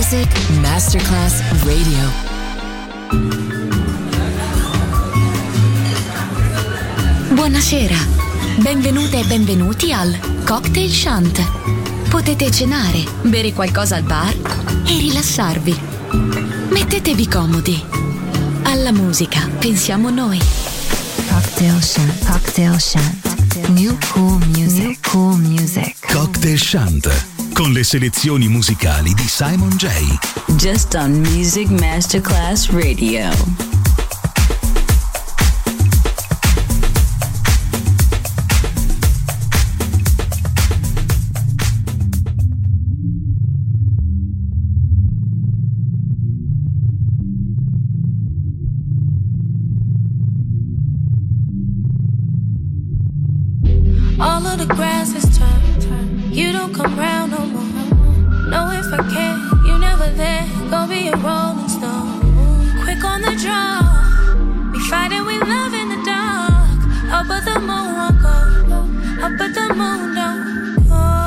Music Masterclass Radio. Buonasera, benvenute e benvenuti al Cocktail Shant. Potete cenare, bere qualcosa al bar e rilassarvi. Mettetevi comodi. Alla musica pensiamo noi. Cocktail Shant. Cocktail Shant. New cool music. New cool music. Cocktail Shant. Con le selezioni musicali di Simon J. Just on Music Masterclass Radio. All of the grass is turned. You don't come round no more. No, if I can, you never there. Go be a rolling stone. Quick on the draw. We fighting, we love in the dark. Up but the moon won't go. Up but the moon don't go.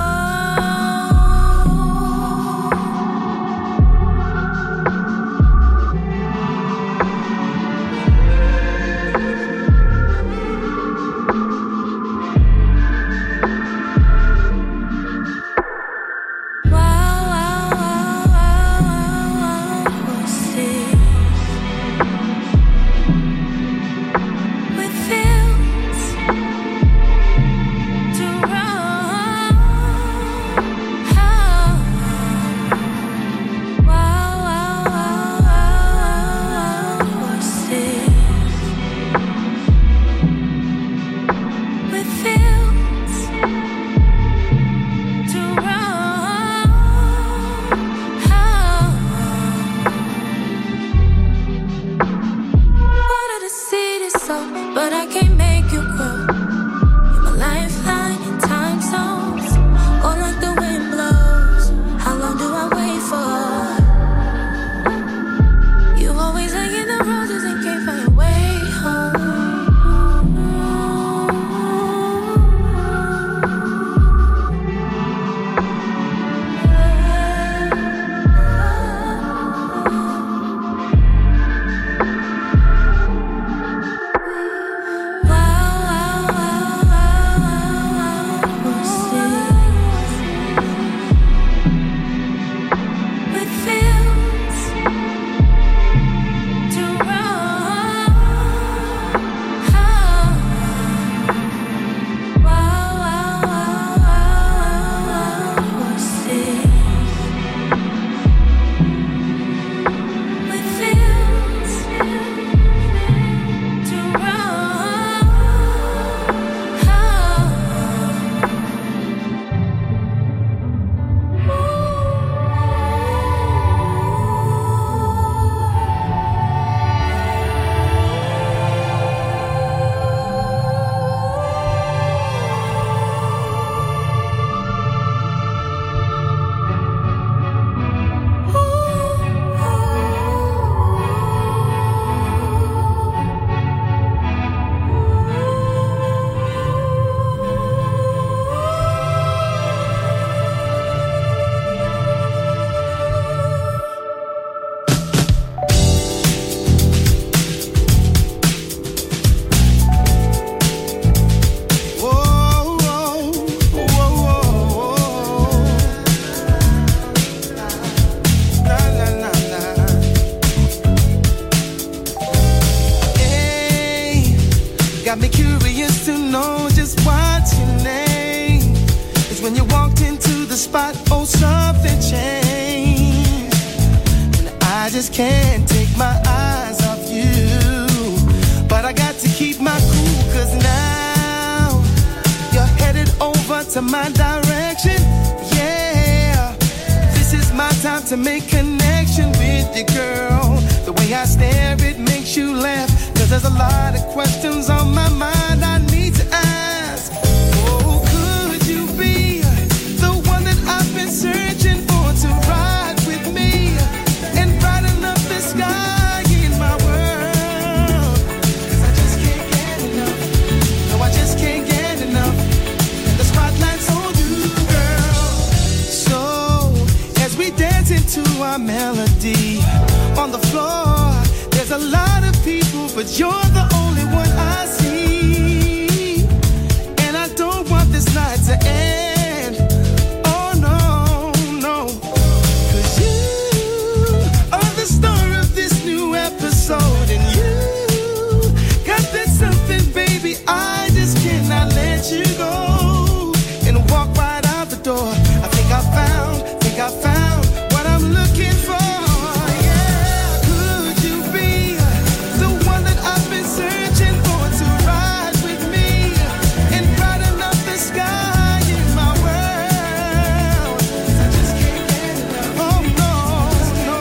to our melody. On the floor, there's a lot of people, but you're the only one I see. And I don't want this night to end. Oh no, no. 'Cause you are the star of this new episode. And you got that something, baby, I just cannot let you go. And walk right out the door. I think I found what I'm looking for. Yeah, could you be the one that I've been searching for to ride with me and brighten up the sky in my world? I just can't get enough. Oh no, no.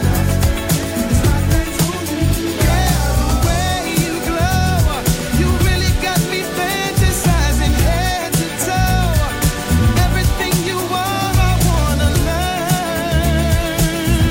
Yeah, the way you glow, you really got me fantasizing head to toe. Everything you are, I wanna learn.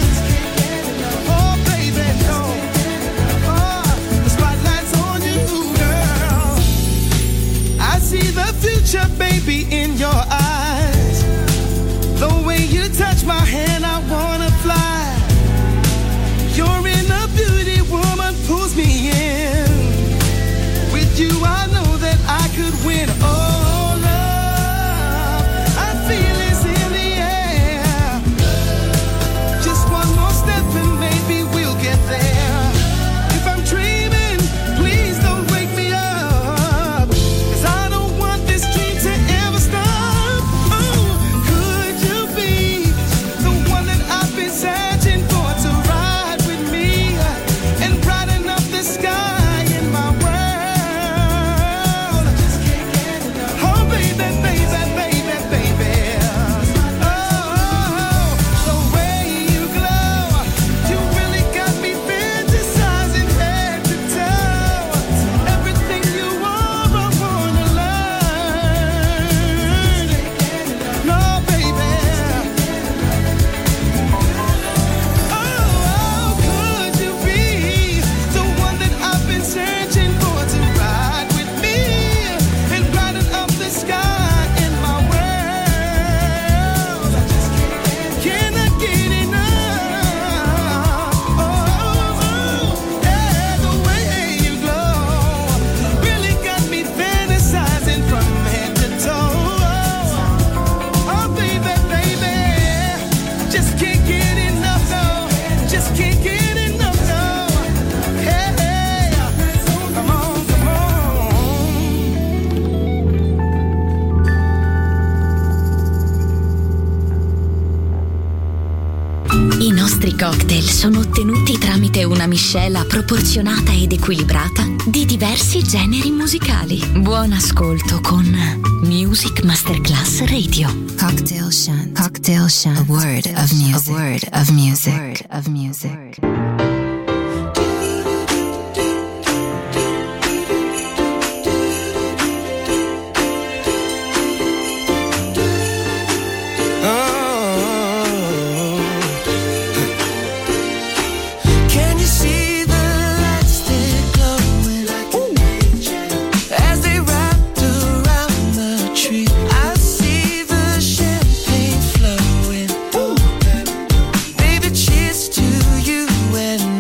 Oh baby, no. Oh, the spotlight's on you, girl. I see the future, baby, in your eyes. The way you touch my hand, I wanna fly. You're in a beauty, woman, pulls me in. With you, I know that I could win. Oh, love, I feel it's in the air. Just one more step and maybe we'll get there. If I'm dreaming, please don't wake me up. 'Cause I don't want this dream to ever stop. Oh, could you be the one that I've been searching for to ride with me and brighten up the sky in my world? I just can't get enough. Oh baby, baby, baby, baby. Oh, the way you glow, you really got me fantasizing head to toe. Everything you are, I wanna learn. No, baby. Oh, could you be the one that I've been searching for to ride with me and brighten up the sky in my world? I just cannot get enough. Oh, yeah, the way you glow really got me fantasizing from head to toe. Oh, baby, baby, just can't get enough, no. Just can't get enough, no. Hey, come on, come on. I nostri cocktail sono ottenuti tramite una miscela proporzionata ed equilibrata di diversi generi musicali. Buon ascolto con Music Masterclass Radio. Cocktail Shant. Cocktail Shant. A word of music. A word of music. A word of music. Can you see the lights still glowing as they wrapped around the tree? I see the champagne flowing. Baby, cheers to you and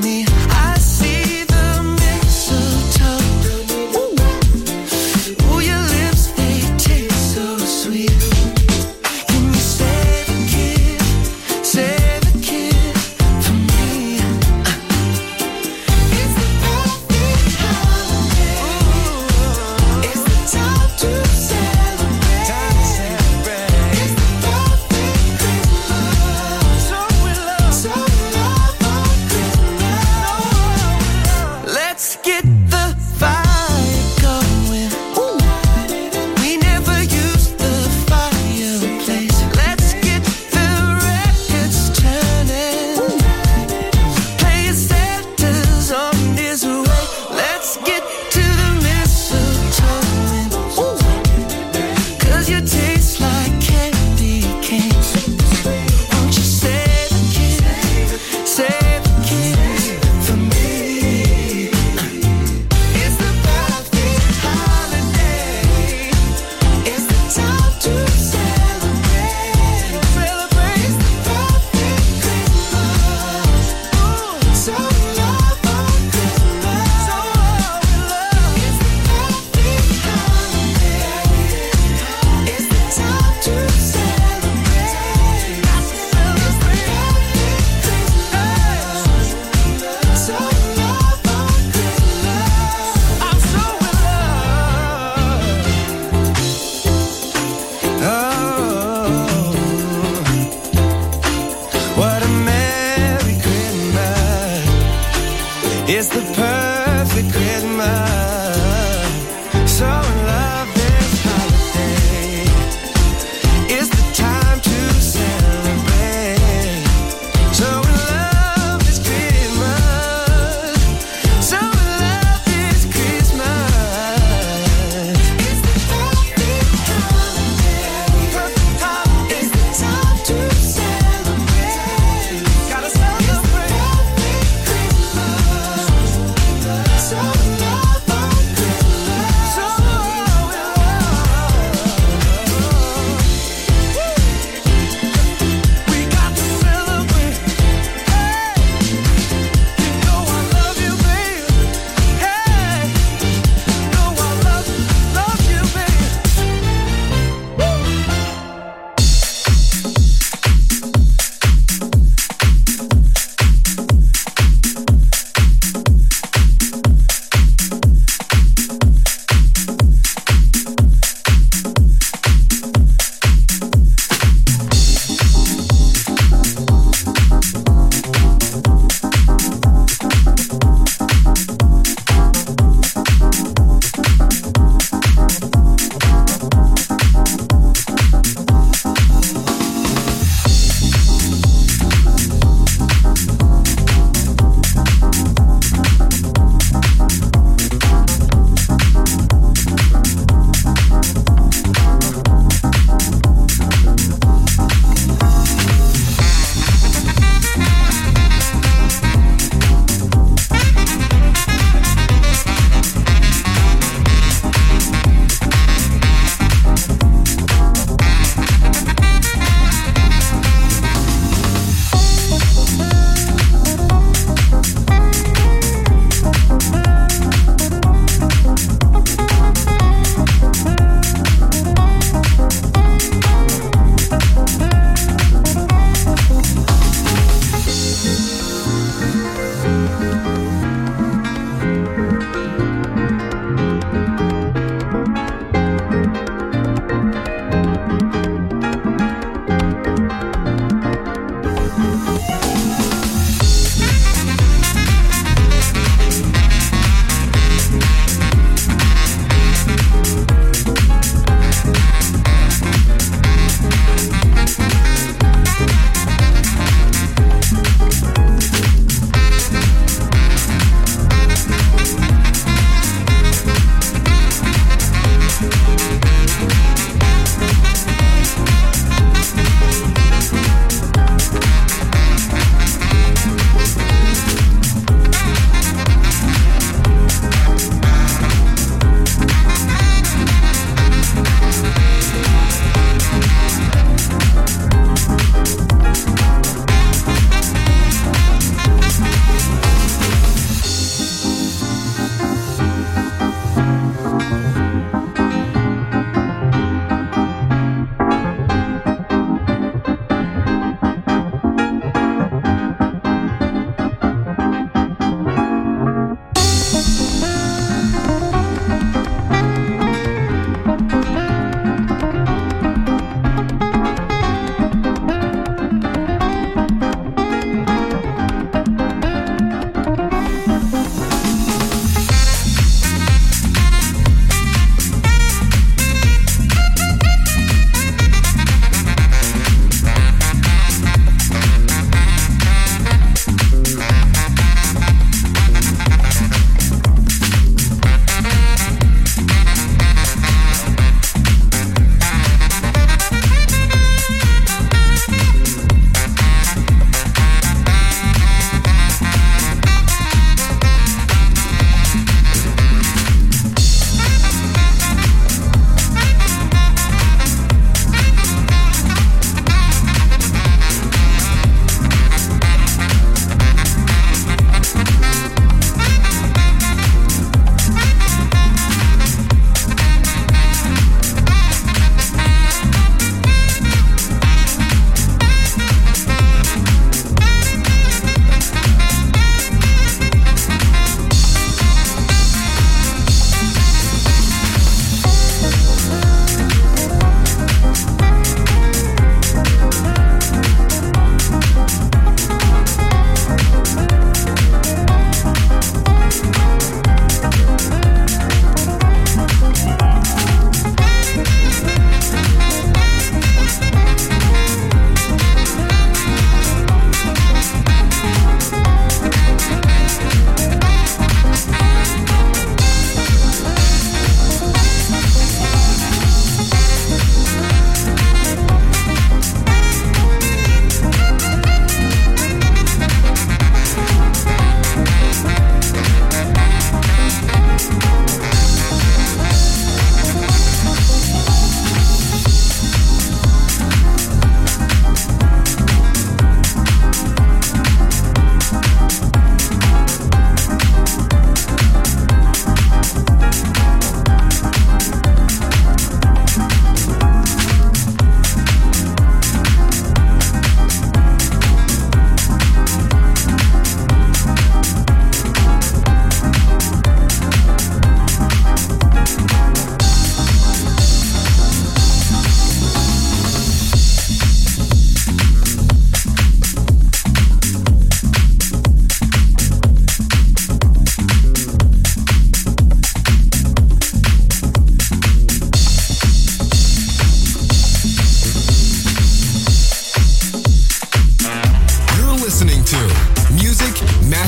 It's the perfect Christmas. So in love this holiday. It's the time to celebrate. So in love this Christmas. So in love this Christmas. It's the perfect holiday. Perfect holiday. It's the time to celebrate. Gotta celebrate. Perfect Christmas.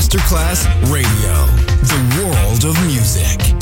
Masterclass Radio, the world of music.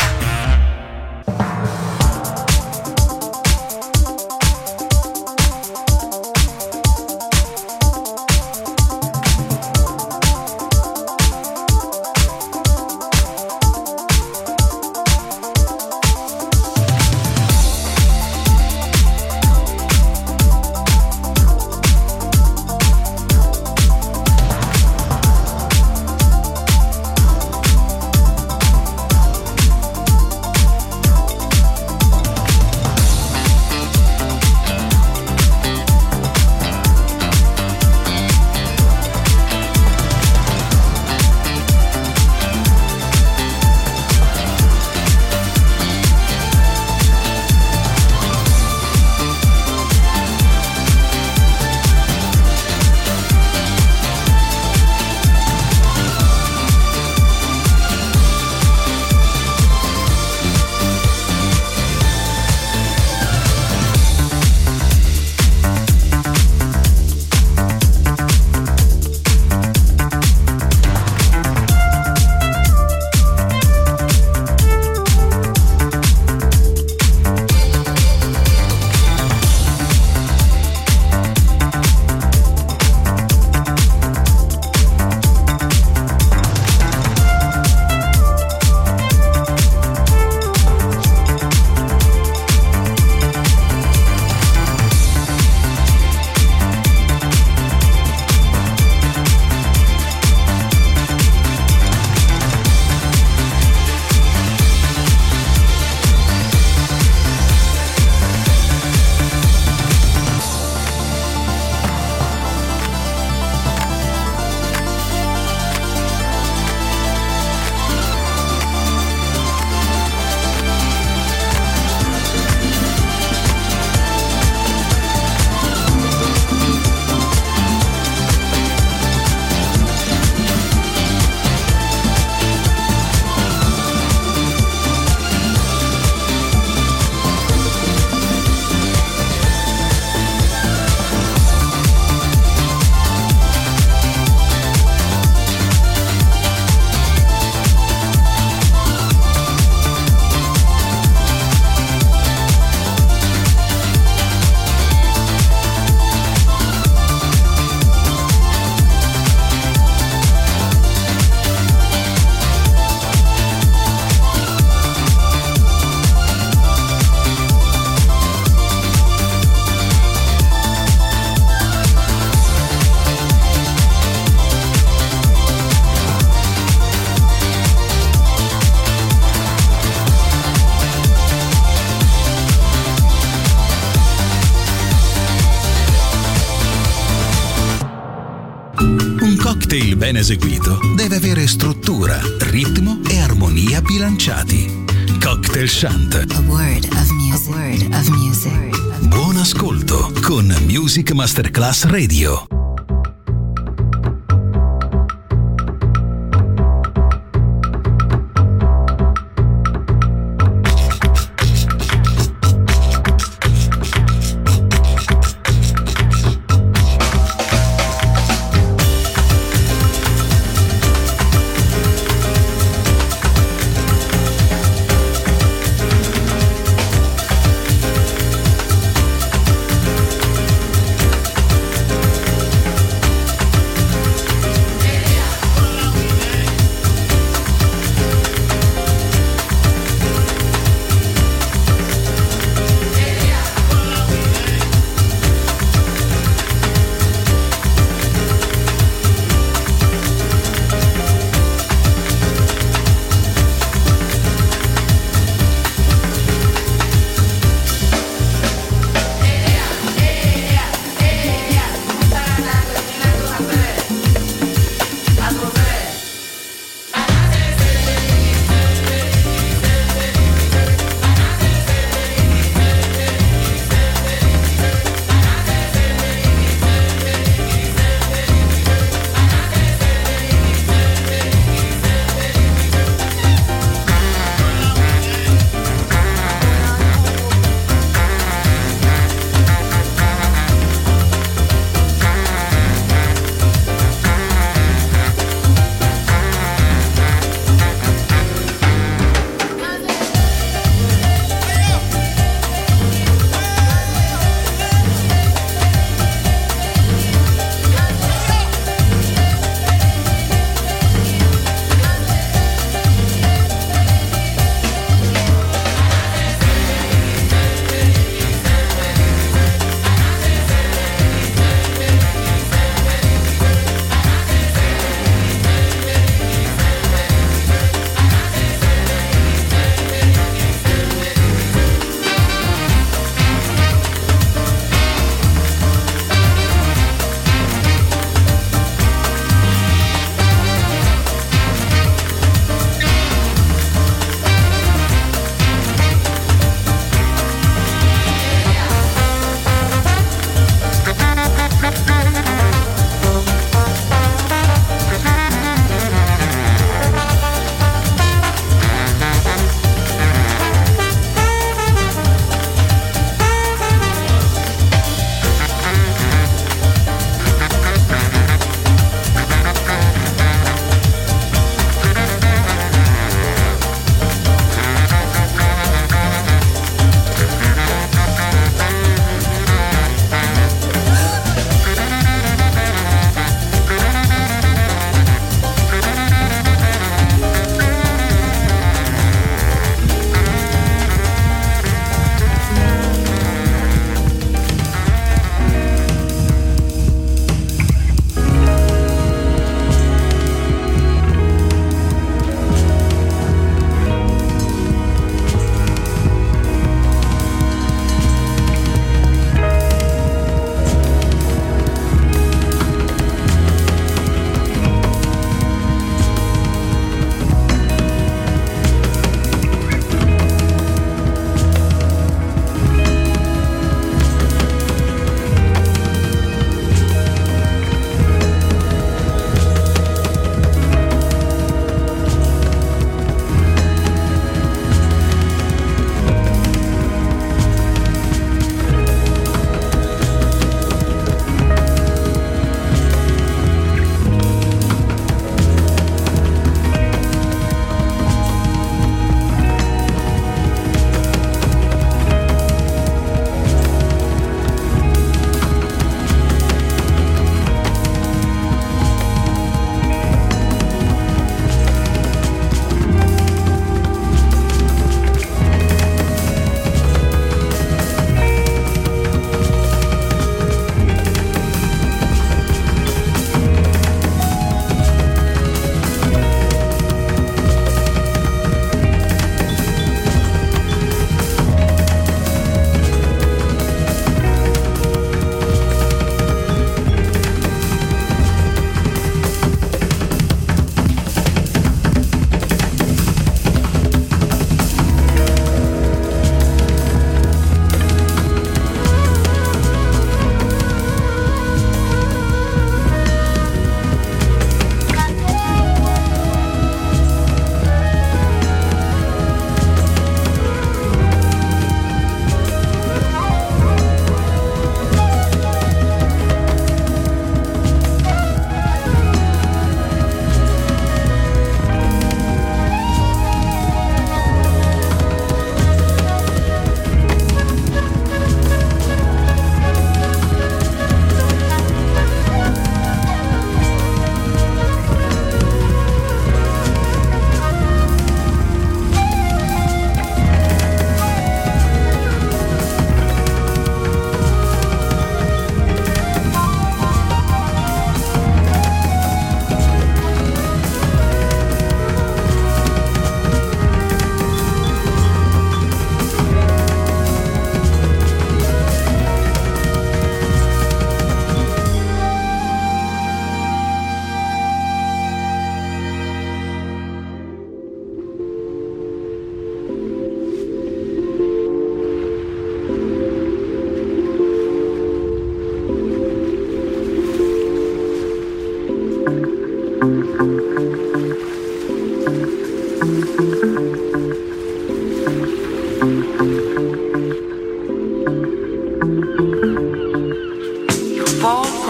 cocktail ben eseguito deve avere struttura, ritmo e armonia bilanciati. Cocktail Chant. A word of music. A word of music. Buon ascolto con Music Masterclass Radio.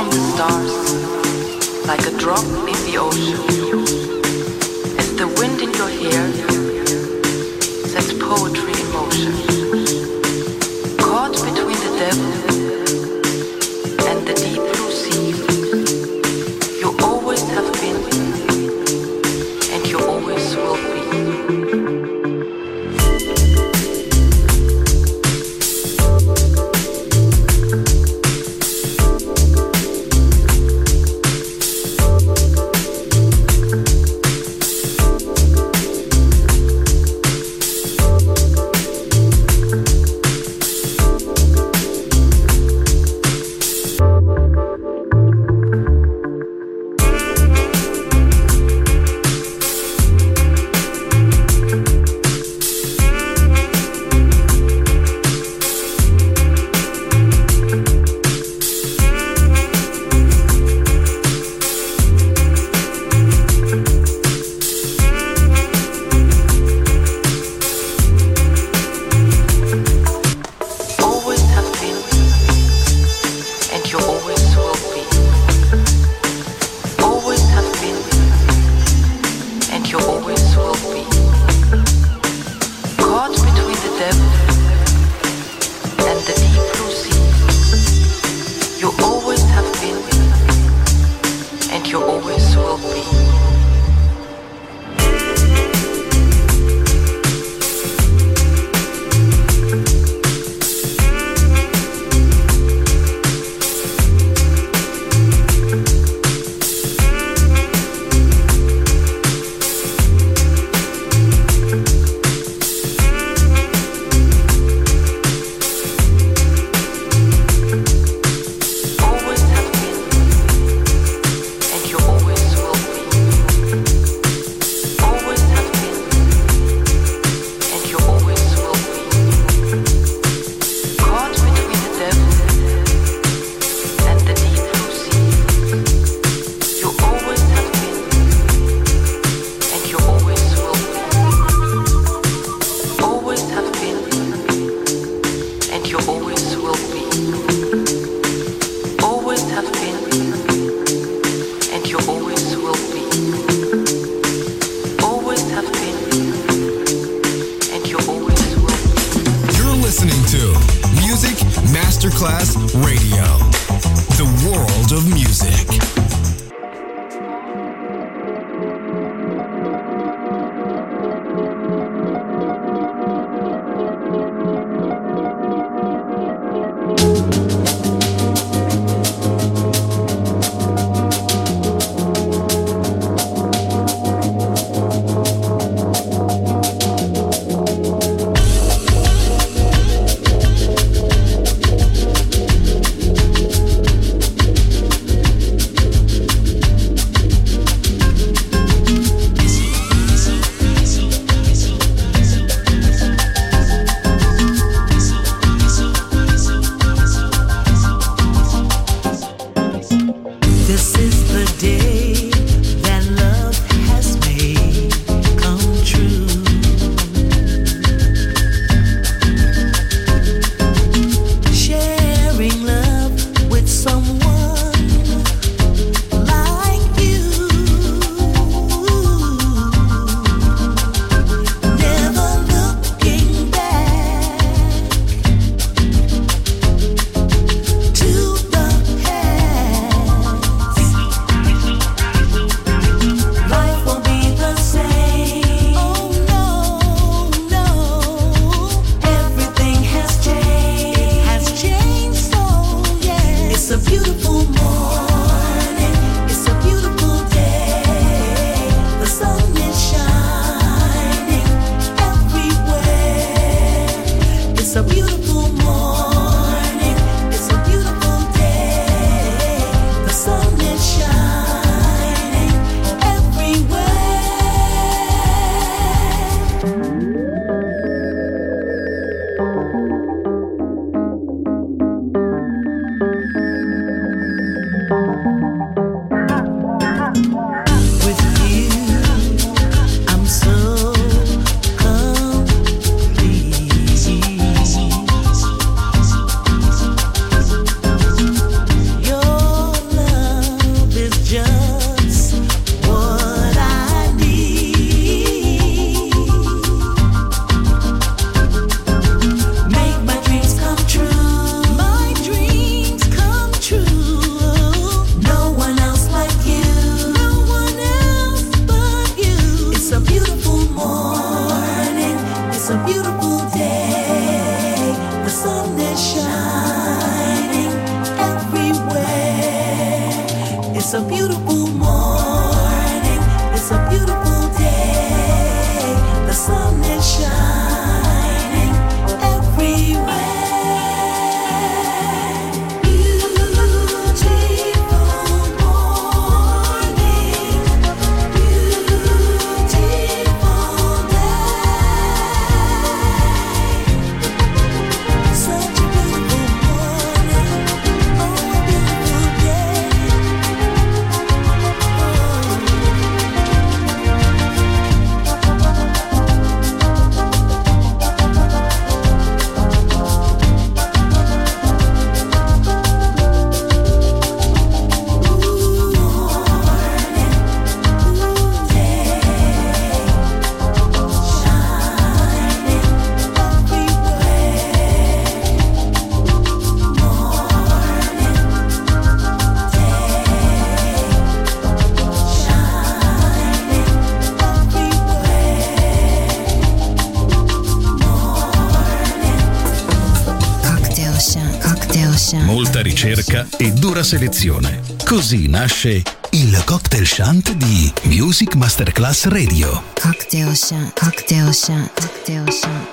among the stars, like a drop in the ocean. As the wind in your hair sets poetry in motion. Caught between the devil and the deep blue sea, you always have been, and you always will be. It's a beautiful morning, it's a beautiful day. The sun is shining everywhere. Molta ricerca e dura selezione. Così nasce il Cocktail Shant di Music Masterclass Radio. Cocktail Shant, Cocktail Shant, Cocktail Shant.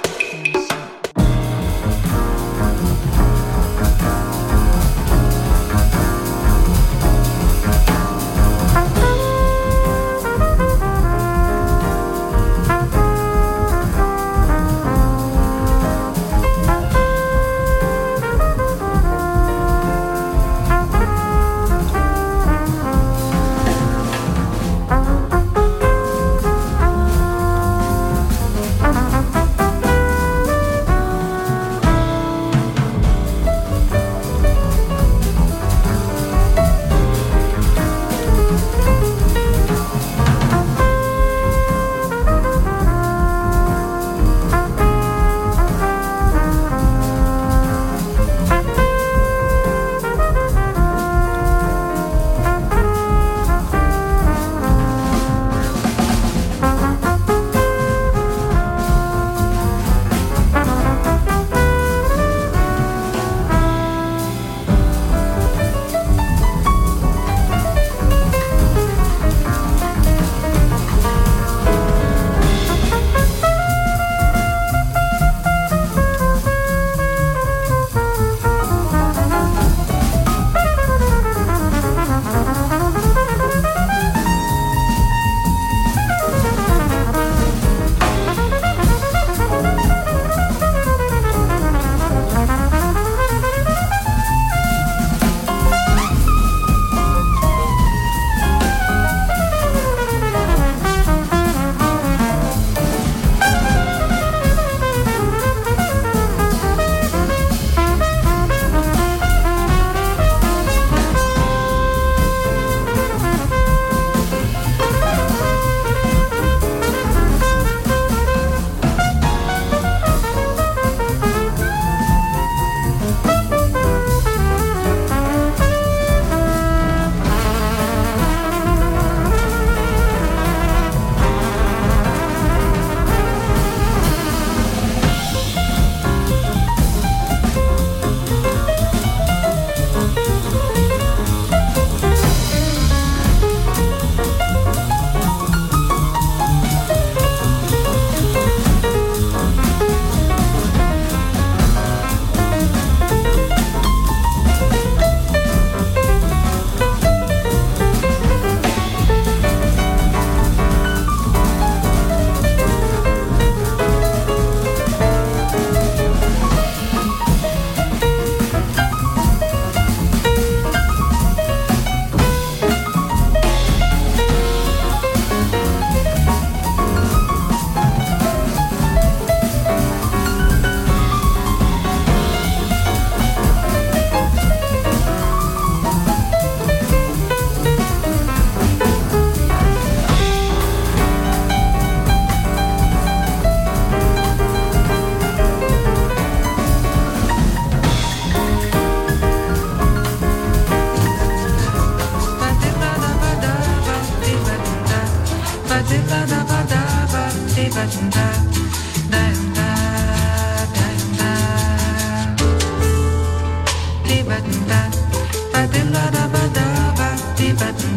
Ba-da-ba-da-ba-da-ba-dee-ba-da.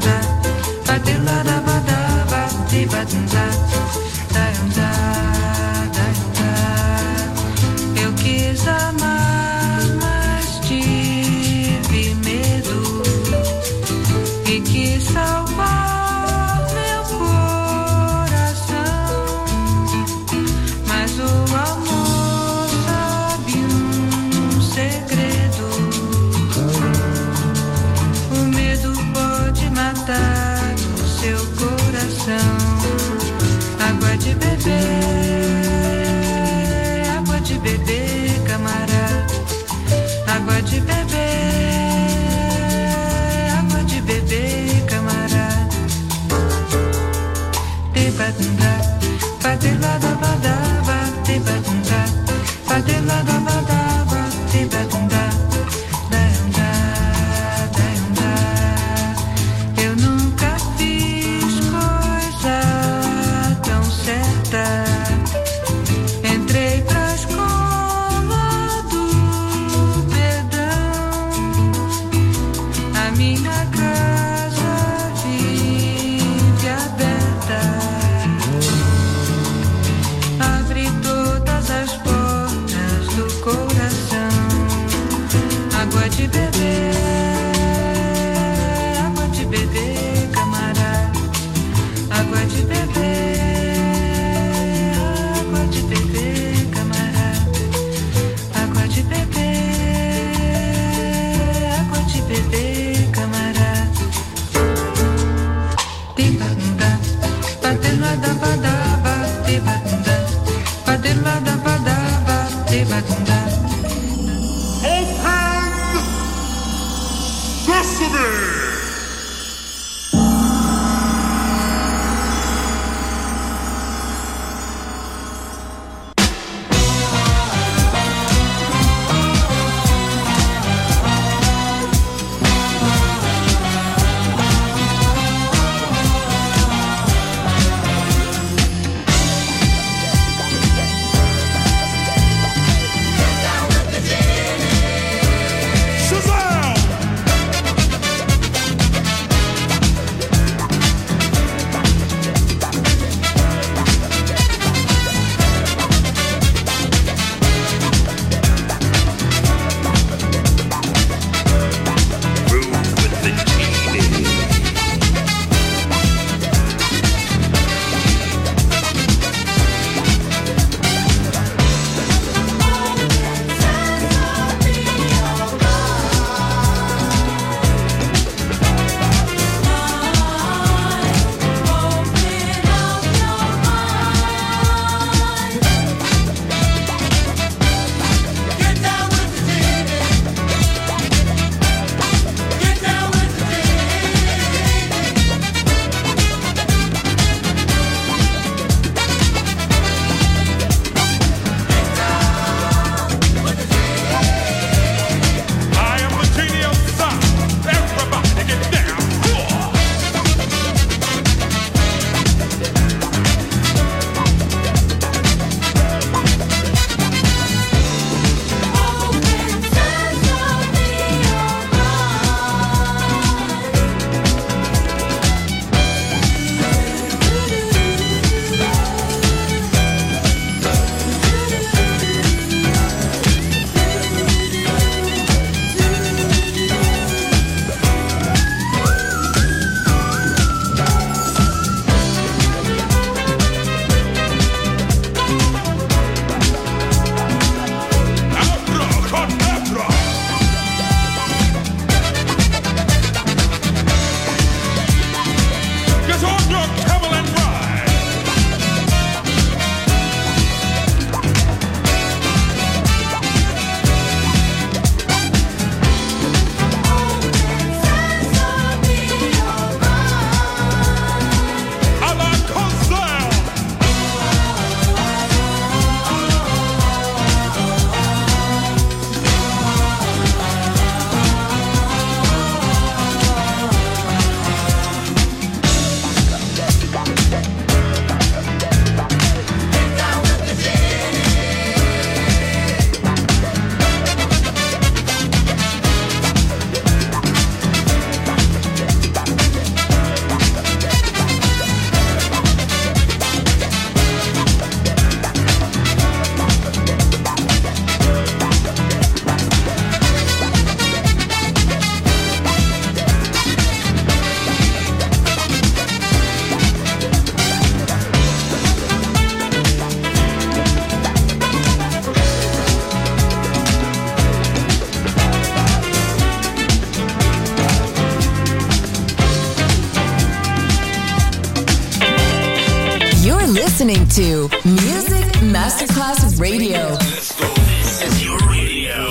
listening to Music Masterclass Radio. Let's go. This is your radio.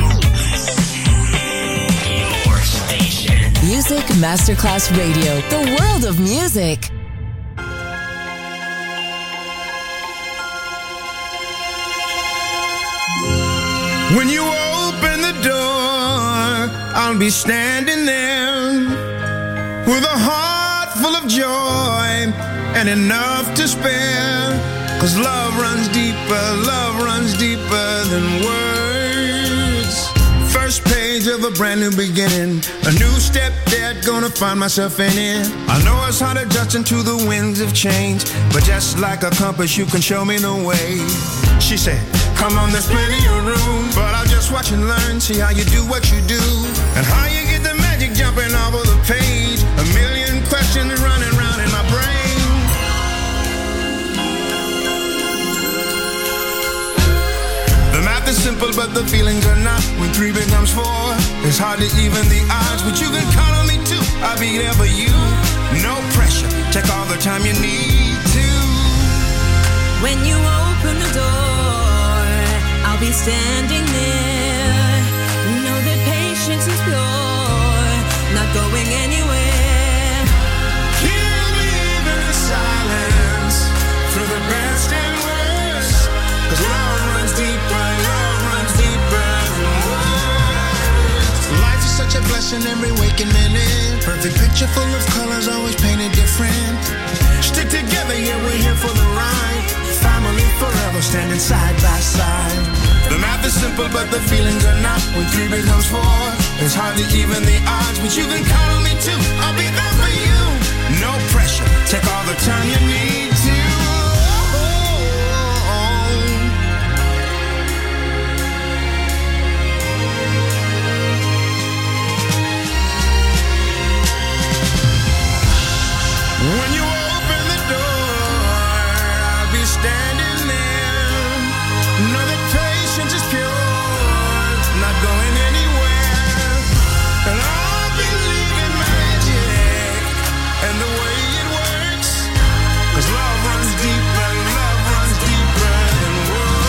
Your station. Music Masterclass Radio. The world of music. When you open the door, I'll be standing there with a heart full of joy and enough to spare. 'Cause love runs deeper than words. First page of a brand new beginning, a new step that gonna find myself in it. I know it's hard adjusting to the winds of change, but just like a compass you can show me the way. She said, come on, there's plenty of room, but I'll just watch and learn, see how you do what you do, and how you get the magic jumping over the page. A million questions running round in my brain. The math is simple, but the feelings are not. When 3 becomes 4, it's hard to even the odds, but you can count on me too. I'll be there for you, no pressure. Take all the time you need to. When you open the door, I'll be standing there. Know that patience is pure, not going anywhere. Hear me even in silence, through the best and worst. 'Cause love runs deeper than words. Life is such a blessing every waking minute. Perfect picture full of colors, always painted different. Stick together, yeah, we're here for the ride. Family forever, standing side by side. The math is simple, but the feelings are not. When 3 becomes 4, it's hard to even the odds, but you can count on me too. I'll be there for you. No pressure. Take all the time you need to. When you open the door, I'll be standing there. Know that patience is pure, not going anywhere. And I'll believe in magic and the way it works. 'Cause love runs deeper than words.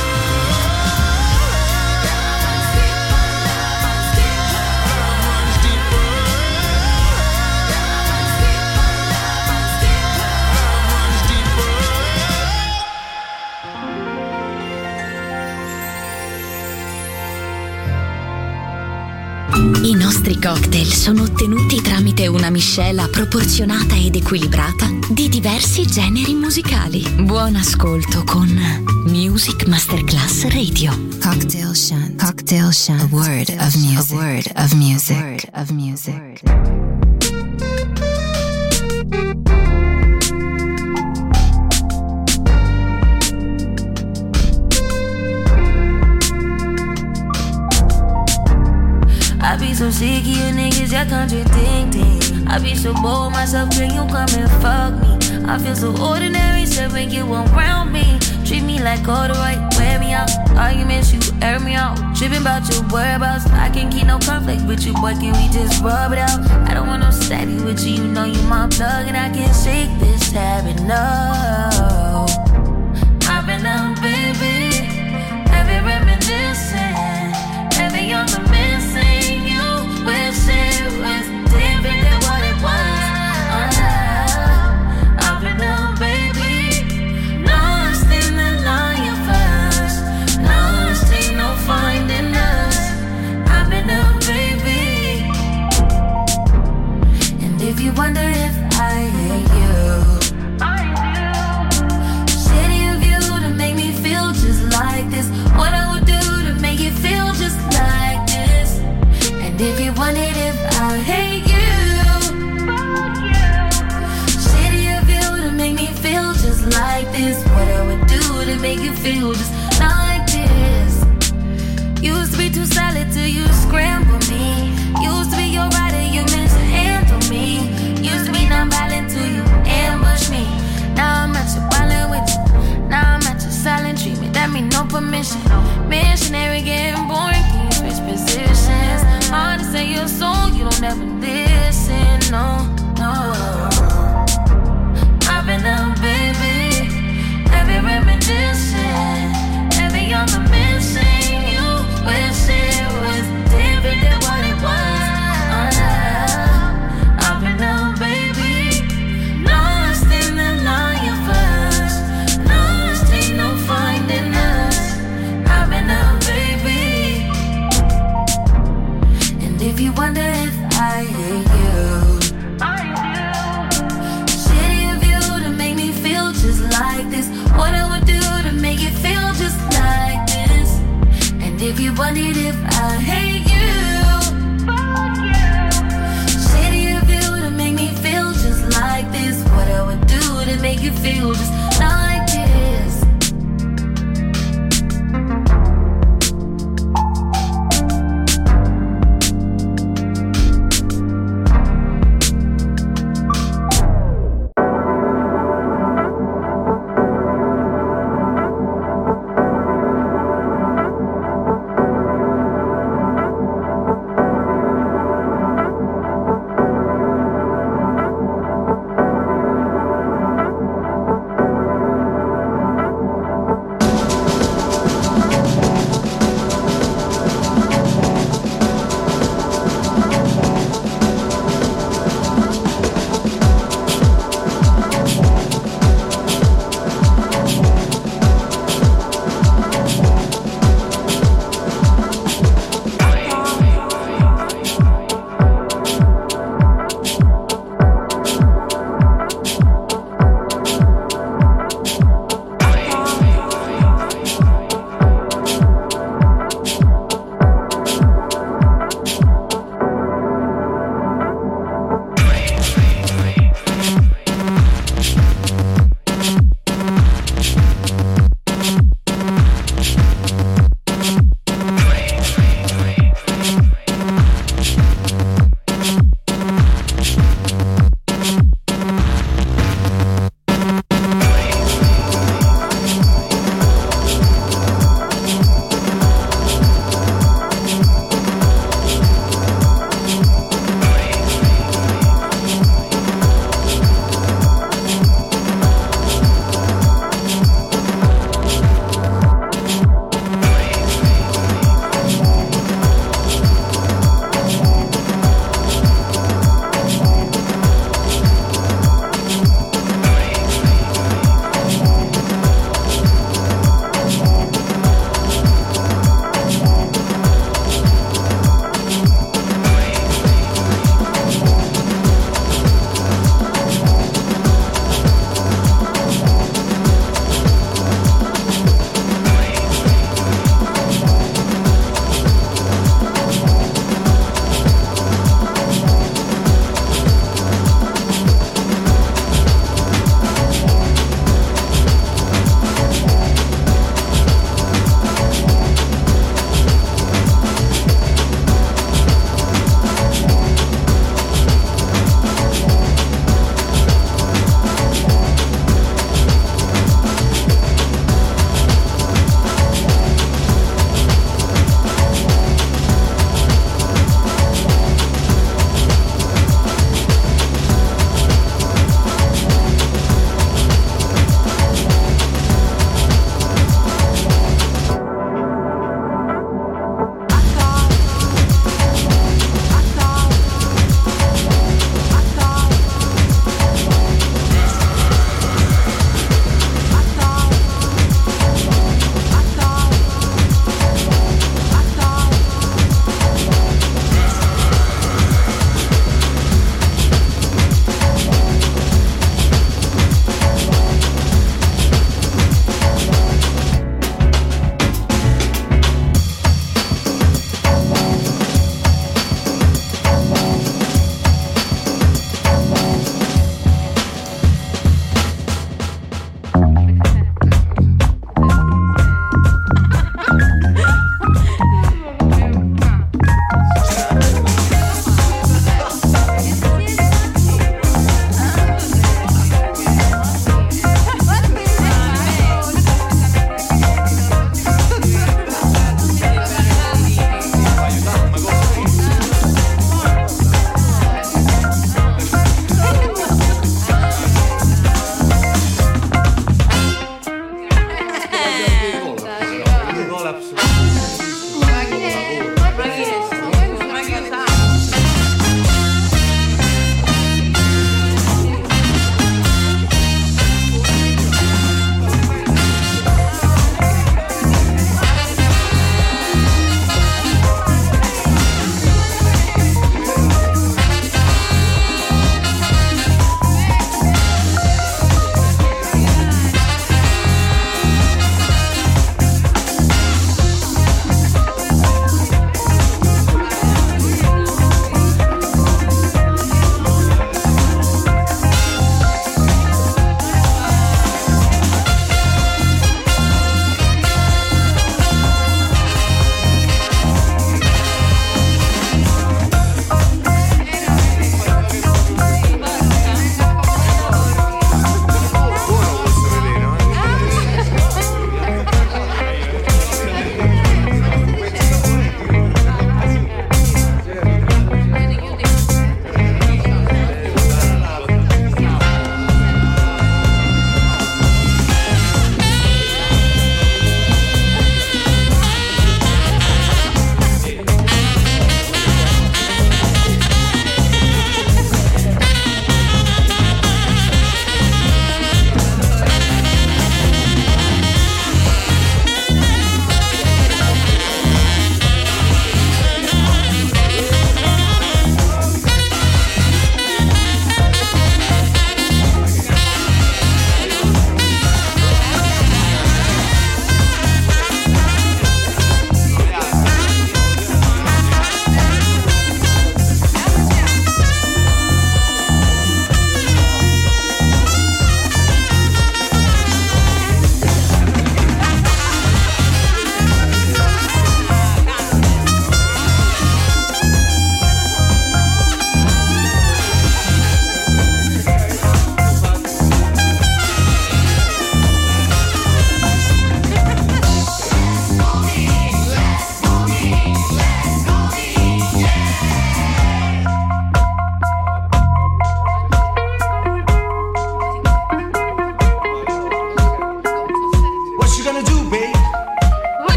I nostri cocktail sono ottenuti tramite una miscela proporzionata ed equilibrata di diversi generi musicali. Buon ascolto con Music Masterclass Radio. Cocktail Shant. Cocktail Shant. A word of music. A word of music. A word of music. I be so sick of you niggas, y'all contradicting. I be so bold myself, can you come and fuck me? I feel so ordinary, so when you around me. Treat me like all the right, wear me out. Arguments, you air me out. Tripping about your whereabouts. I can't keep no conflict with you, boy, can we just rub it out? I don't want no steady with you, you know you my plug. And I can't shake this habit, no. I've been out, baby. Heavy reminiscing. Heavy on the missing. You wish it was different than what it was. I've been out, baby. Lost in the line first. Lost, ain't no finding us. I've been out, baby. And if you wonder if I hate you, I do. Shitty of you to make me feel just like this. What I would do to make you feel just like this. And if you wondered if I hate you, fuck you. Shitty of you to make me feel just like this. What I would do to make you feel just like this. Used to be too solid till you scramble me. Used to be your rider, you mishandle me. Used to be not wondered if I hate you. Fuck you. Shady of you to make me feel just like this. What I would do to make you feel just like this.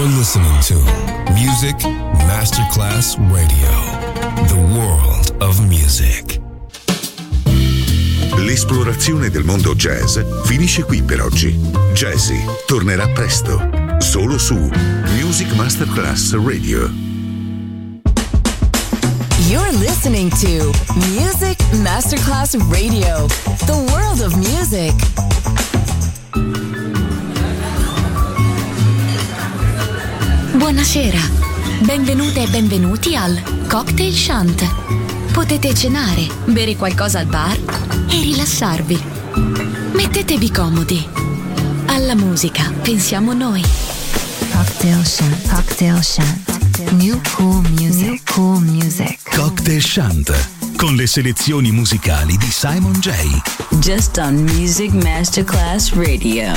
You're listening to Music Masterclass Radio, the world of music. L'esplorazione del mondo jazz finisce qui per oggi. Jazzy tornerà presto, solo su Music Masterclass Radio. You're listening to Music Masterclass Radio, the world of music. Buonasera, benvenute e benvenuti al Cocktail Shant. Potete cenare, bere qualcosa al bar e rilassarvi. Mettetevi comodi. Alla musica pensiamo noi. Cocktail Shant, Cocktail Shant. New cool music, new cool music. Cocktail Shant, con le selezioni musicali di Simon J. Just on Music Masterclass Radio.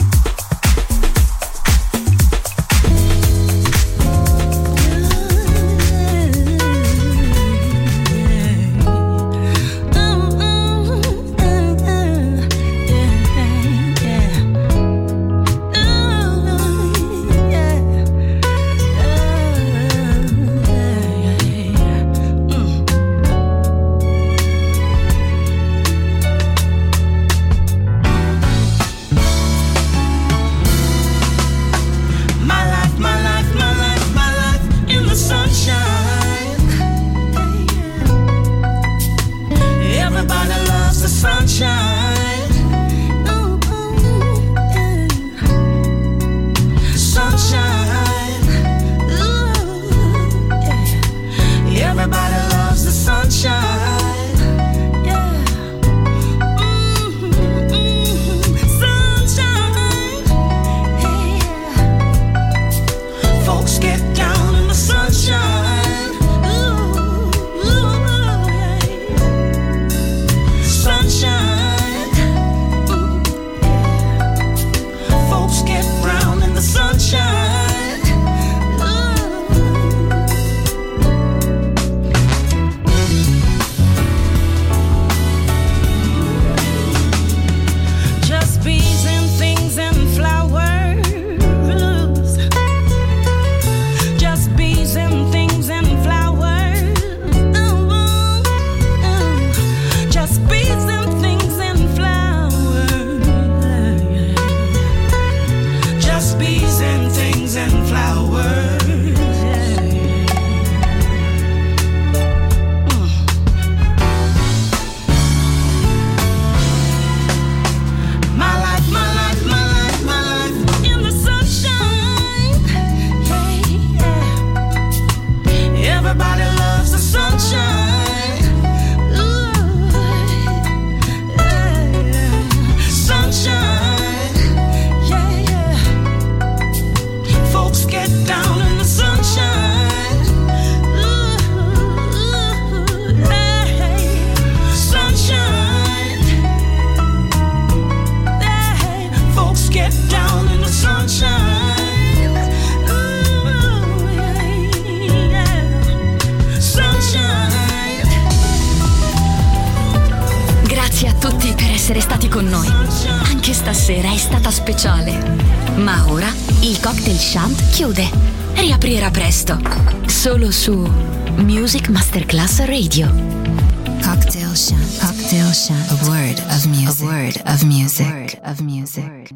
Essere stati con noi. Anche stasera è stata speciale. Ma ora il Cocktail Shant chiude. Riaprirà presto. Solo su Music Masterclass Radio. Cocktail Shant, Cocktail Shant. A word of music, a word of music, a word of music.